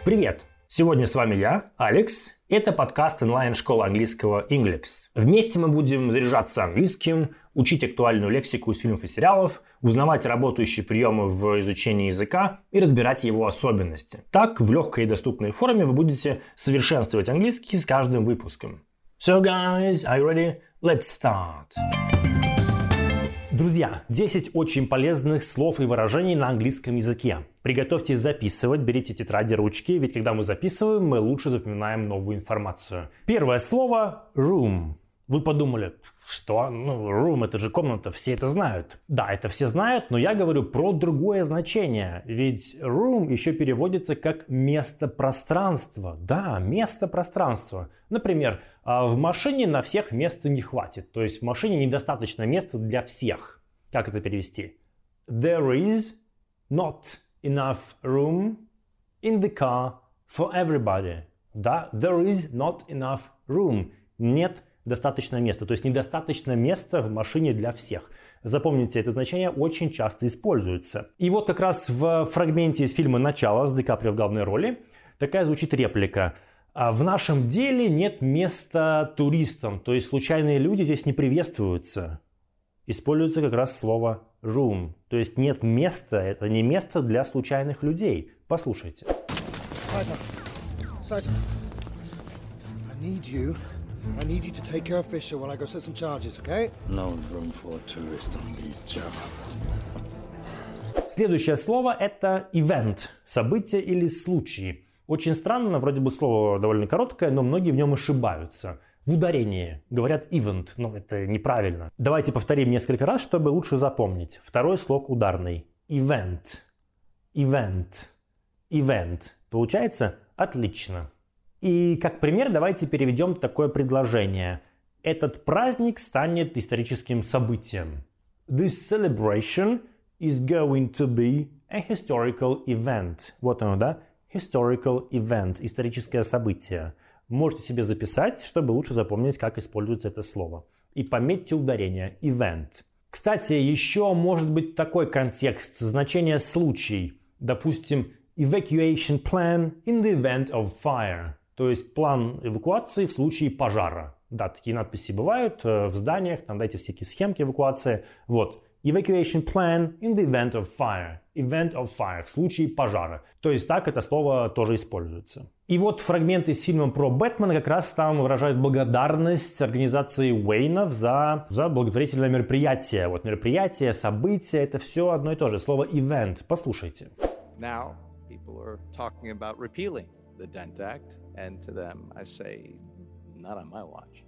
Привет! Сегодня с вами я, Алекс. Это подкаст онлайн-школы английского Inglix. Вместе мы будем заряжаться английским, учить актуальную лексику из фильмов и сериалов, узнавать работающие приемы в изучении языка и разбирать его особенности. Так, в легкой и доступной форме вы будете совершенствовать английский с каждым выпуском. So guys, are you ready? Let's start! Друзья, 10 очень полезных слов и выражений на английском языке. Приготовьтесь записывать, берите тетради, ручки, ведь когда мы записываем, мы лучше запоминаем новую информацию. Первое слово – room. Вы подумали, что? Room – это же комната, все это знают. Да, это все знают, но я говорю про другое значение. Ведь room еще переводится как место пространства. Да, место пространства. Например, в машине на всех места не хватит. То есть в машине недостаточно места для всех. Как это перевести? There is not enough room in the car for everybody. Да, there is not enough room. Нет достаточно места. То есть недостаточно места в машине для всех. Запомните, это значение очень часто используется. И вот как раз в фрагменте из фильма «Начало» с Ди Каприо в главной роли такая звучит реплика. В нашем деле нет места туристам, то есть случайные люди здесь не приветствуются. Используется как раз слово room, то есть нет места, это не место для случайных людей. Послушайте. Saito, I need you to take care of Fisher while I go set some charges, okay? No room for a tourist on these jobs. Следующее слово это event, событие или случай. Очень странно, вроде бы слово довольно короткое, но многие в нем ошибаются. В ударении говорят event, но это неправильно. Давайте повторим несколько раз, чтобы лучше запомнить. Второй слог ударный. Event. Event. Event. Получается отлично. И как пример давайте переведем такое предложение. Этот праздник станет историческим событием. This celebration is going to be a historical event. Вот оно, да? Historical event, историческое событие. Можете себе записать, чтобы лучше запомнить, как используется это слово. И пометьте ударение event. Кстати, еще может быть такой контекст, значение случай. Допустим, evacuation plan in the event of fire. То есть план эвакуации в случае пожара. Да, такие надписи бывают в зданиях, там дайте всякие схемки эвакуации. Вот. Evacuation plan in the event of fire. Event of fire. В случае пожара. То есть так это слово тоже используется. И вот фрагменты из фильма про Бэтмена как раз там выражают благодарность организации Уэйнов за благотворительное мероприятие. Вот мероприятие, событие, это все одно и то же. Слово event. Послушайте. Now people are talking about repealing the Dent Act, and to them I say, not on my watch.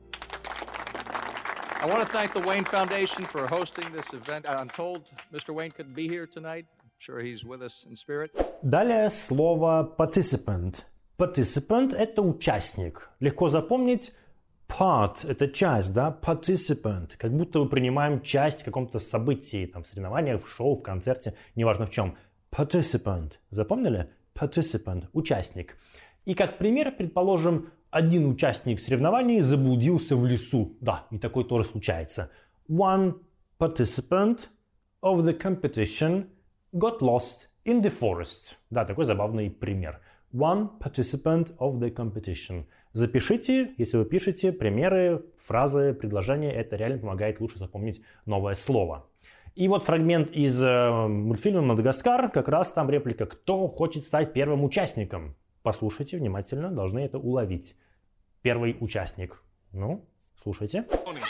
I want to thank the Wayne Foundation for hosting this event. I'm told Mr. Wayne couldn't be here tonight. I'm sure he's with us in spirit. Далее слово participant. Participant – это участник. Легко запомнить. Part – это часть, да? Participant. Как будто мы принимаем часть в каком-то событии, там, в соревнованиях, в шоу, в концерте, неважно в чем. Participant. Запомнили? Participant – участник. И как пример, предположим, один участник соревнований заблудился в лесу. Да, и такое тоже случается. One participant of the competition got lost in the forest. Да, такой забавный пример. One participant of the competition. Запишите, если вы пишете примеры, фразы, предложения. Это реально помогает лучше запомнить новое слово. И вот фрагмент из мультфильма «Мадагаскар». Как раз там реплика «Кто хочет стать первым участником?» Послушайте внимательно, должны это уловить. Первый участник. Ну, слушайте.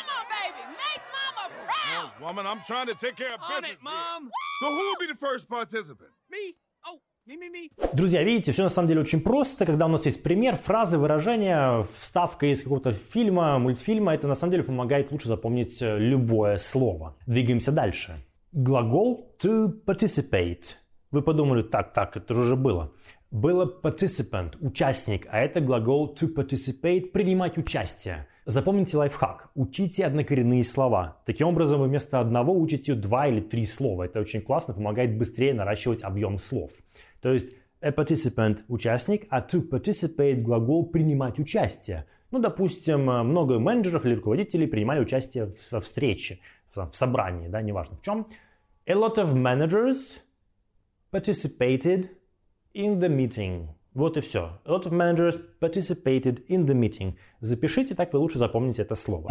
Woman, I'm trying to take care of business. Mom. So who will be the first participant? Me. Oh, me. Друзья, видите, все на самом деле очень просто. Когда у нас есть пример, фразы, выражения, вставка из какого-то фильма, мультфильма, это на самом деле помогает лучше запомнить любое слово. Двигаемся дальше. Глагол to participate. Вы подумали, так, это же уже было. Было participant, участник, а это глагол to participate, принимать участие. Запомните лайфхак. Учите однокоренные слова. Таким образом, вы вместо одного учите 2 или 3 слова. Это очень классно, помогает быстрее наращивать объем слов. То есть, a participant – участник, а to participate – глагол принимать участие. Ну, допустим, много менеджеров или руководителей принимали участие во встрече, в собрании, да, неважно в чем. A lot of managers participated in the meeting. Вот и все. A lot of managers participated in the meeting. Запишите, так вы лучше запомните это слово.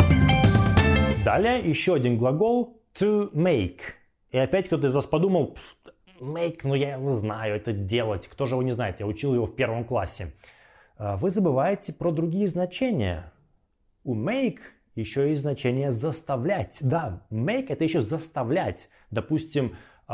Далее еще один глагол to make. И опять кто-то из вас подумал, make, ну я его знаю, это делать. Кто же его не знает? Я учил его в 1 классе. Вы забываете про другие значения. У make еще есть значение заставлять. Да, make это еще заставлять. Допустим,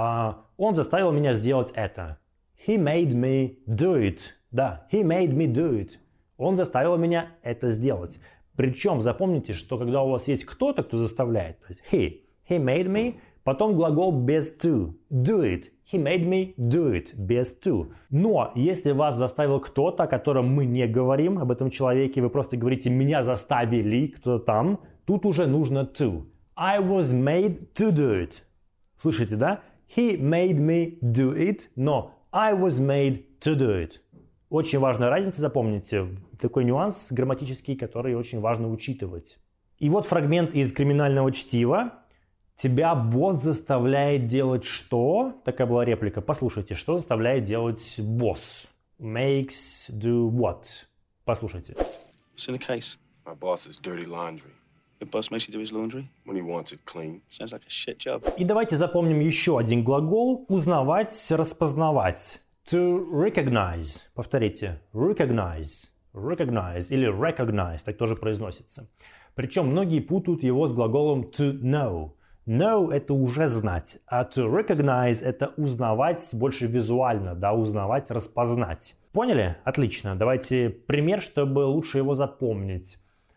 он заставил меня сделать это. He made me do it. Да, he made me do it. Он заставил меня это сделать. Причем запомните, что когда у вас есть кто-то, кто заставляет, то есть he made me, потом глагол без to, do it. He made me do it, без to. Но если вас заставил кто-то, о котором мы не говорим, об этом человеке, вы просто говорите «меня заставили», кто-то там, тут уже нужно to. I was made to do it. Слышите, да? He made me do it, но I was made to do it. Очень важная разница, запомните, такой нюанс грамматический, который очень важно учитывать. И вот фрагмент из криминального чтива. Тебя босс заставляет делать что? Такая была реплика. Послушайте, что заставляет делать босс? Makes do what? Послушайте. What's in the case? My boss's dirty laundry. Your boss makes you do his laundry? When he wants it clean. Sounds like a shit job. И давайте запомним еще один глагол. Узнавать, распознавать. To recognize. Повторите. Recognize. Recognize или recognize. Так тоже произносится. Причем многие путают его с глаголом to know. Know – это уже знать, а to recognize – это узнавать больше визуально, да, узнавать, распознать. Поняли? Отлично. Давайте пример, чтобы лучше его запомнить.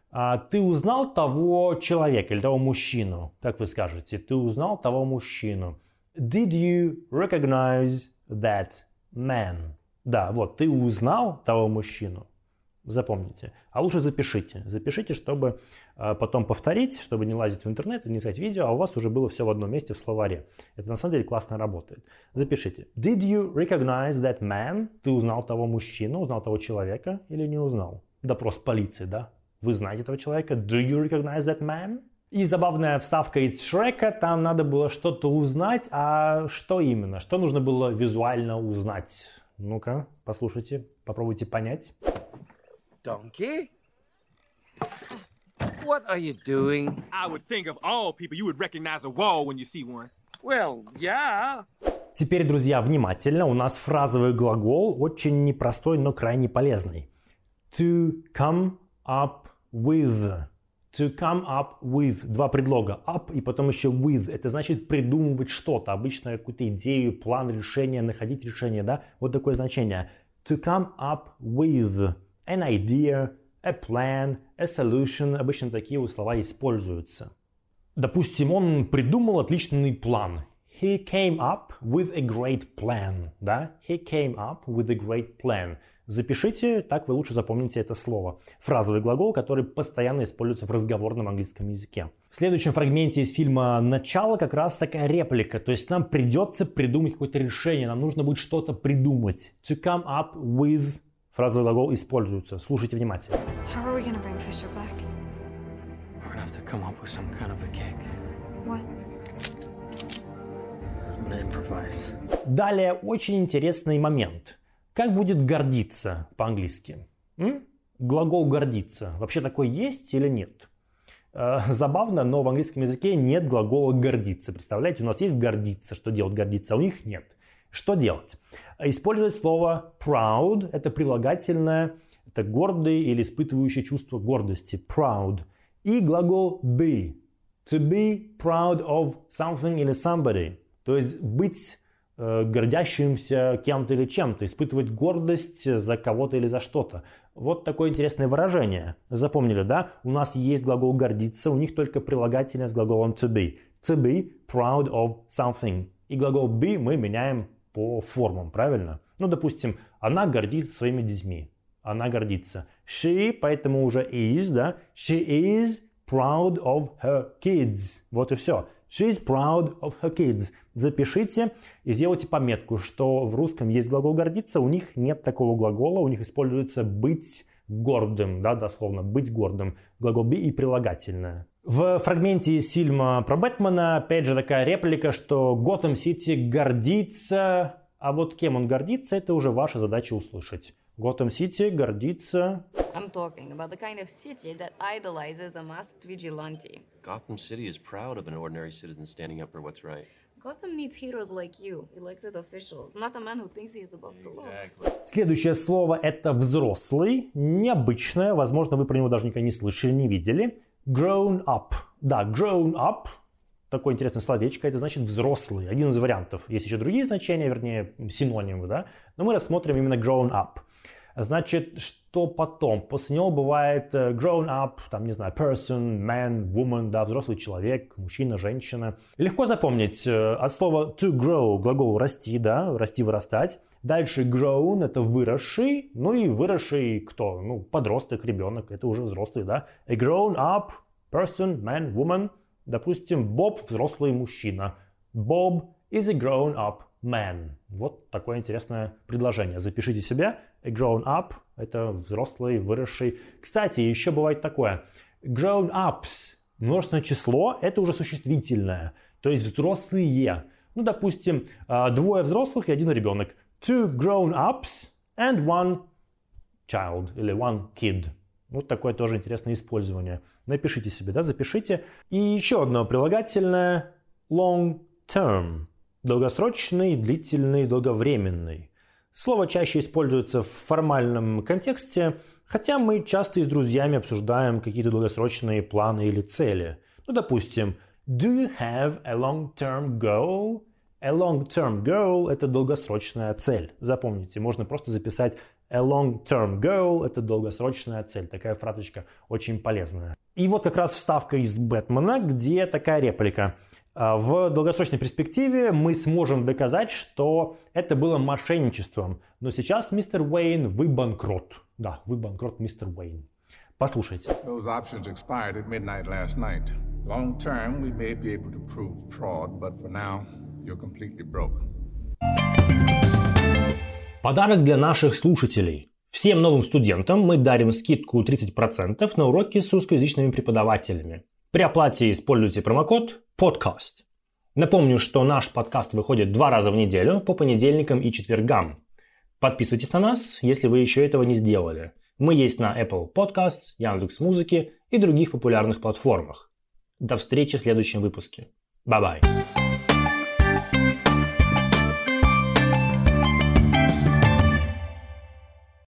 Ты узнал того человека или того мужчину? Как вы скажете? Ты узнал того мужчину. Did you recognize that man? Да, вот, ты узнал того мужчину. Запомните. А лучше запишите. Запишите, чтобы потом повторить, чтобы не лазить в интернет и не искать видео, а у вас уже было все в одном месте в словаре. Это на самом деле классно работает. Запишите. Did you recognize that man? Ты узнал того мужчину, узнал того человека или не узнал? Допрос полиции, да? Вы знаете этого человека? Do you recognize that man? И забавная вставка из Шрека. Там надо было что-то узнать. А что именно? Что нужно было визуально узнать? Ну-ка, послушайте, попробуйте понять. Donkey? What are you doing? I would think of all people you would recognize a wall when you see one. Well, yeah. Теперь, друзья, внимательно. У нас фразовый глагол очень непростой, но крайне полезный. To come up with. To come up with. Два предлога. Up и потом еще with. Это значит придумывать что-то. Обычно какую-то идею, план, решение, находить решение. Да? Вот такое значение. To come up with. An idea, a plan, a solution. Обычно такие вот слова используются. Допустим, он придумал отличный план. He came up with a great plan. Да? He came up with a great plan. Запишите, так вы лучше запомните это слово. Фразовый глагол, который постоянно используется в разговорном английском языке. В следующем фрагменте из фильма «Начало» как раз такая реплика. То есть нам придется придумать какое-то решение. Нам нужно будет что-то придумать. To come up with. Фразовый глагол используется. Слушайте внимательно. How are we gonna bring Fisher back? We're gonna have to come up with some kind of a kick. What? I'm gonna improvise. Далее очень интересный момент. Как будет гордиться по-английски? Глагол гордиться. Вообще такой есть или нет? Забавно, но в английском языке нет глагола гордиться. Представляете, у нас есть гордиться. Что делать гордиться, а у них нет. Что делать? Использовать слово proud. Это прилагательное. Это гордый или испытывающий чувство гордости. Proud. И глагол be. To be proud of something или somebody. То есть быть гордящимся кем-то или чем-то. Испытывать гордость за кого-то или за что-то. Вот такое интересное выражение. Запомнили, да? У нас есть глагол гордиться. У них только прилагательное с глаголом to be. To be proud of something. И глагол be мы меняем по формам, правильно? Ну, допустим, она гордится своими детьми. Она гордится. She, поэтому уже is, да? She is proud of her kids. Вот и все. She is proud of her kids. Запишите и сделайте пометку, что в русском есть глагол гордиться, у них нет такого глагола, у них используется быть гордым, да, дословно, быть гордым. Глагол be и прилагательное. В фрагменте из фильма про Бэтмена, опять же, такая реплика, что Готэм Сити гордится А вот кем он гордится, это уже ваша задача услышать. Готэм Сити гордится... I'm talking about the kind of city that idolizes a masked vigilante. Gotham City is proud of an ordinary citizen standing up for what's right. Gotham needs heroes like you, elected officials, not a man who thinks he is above the law. Следующее слово это взрослый, необычное, возможно, вы про него даже никогда не слышали, не видели. Grown up. Да, grown up. Такое интересное словечко, это значит взрослый, один из вариантов. Есть еще другие значения, вернее, синонимы, да? Но мы рассмотрим именно grown up. Значит, что потом? После него бывает grown up, там, не знаю, person, man, woman, да, взрослый человек, мужчина, женщина. Легко запомнить от слова to grow, глагол расти, да, расти, вырастать. Дальше grown, это выросший, ну и выросший кто? Ну, подросток, ребенок, это уже взрослый, да. A grown up person, man, woman. Допустим, Боб – взрослый мужчина. Bob is a grown up man. Вот такое интересное предложение. Запишите себе. A grown up – это взрослый, выросший. Кстати, еще бывает такое. Grown ups – множественное число – это уже существительное. То есть взрослые. Ну, допустим, двое взрослых и один ребенок. Two grown ups and one child или one kid. Вот такое тоже интересное использование. Напишите себе, да, запишите. И еще одно прилагательное long term. Долгосрочный, длительный, долговременный. Слово чаще используется в формальном контексте, хотя мы часто и с друзьями обсуждаем какие-то долгосрочные планы или цели. Ну, допустим, do you have a long-term goal? A long-term goal – это долгосрочная цель. Запомните, можно просто записать a long-term goal – это долгосрочная цель. Такая фразочка очень полезная. И вот как раз вставка из Бэтмена, где такая реплика. В долгосрочной перспективе мы сможем доказать, что это было мошенничеством. Но сейчас, мистер Уэйн, вы банкрот. Да, вы банкрот, мистер Уэйн. Послушайте. Those options expired at midnight last night. Long term, we may be able to prove fraud, but for now, you're completely broke. Подарок для наших слушателей. Всем новым студентам мы дарим скидку 30% на уроки с русскоязычными преподавателями. При оплате используйте промокод PODCAST. Напомню, что наш подкаст выходит 2 раза в неделю по понедельникам и четвергам. Подписывайтесь на нас, если вы еще этого не сделали. Мы есть на Apple Podcasts, Яндекс.Музыке и других популярных платформах. До встречи в следующем выпуске. Bye-bye.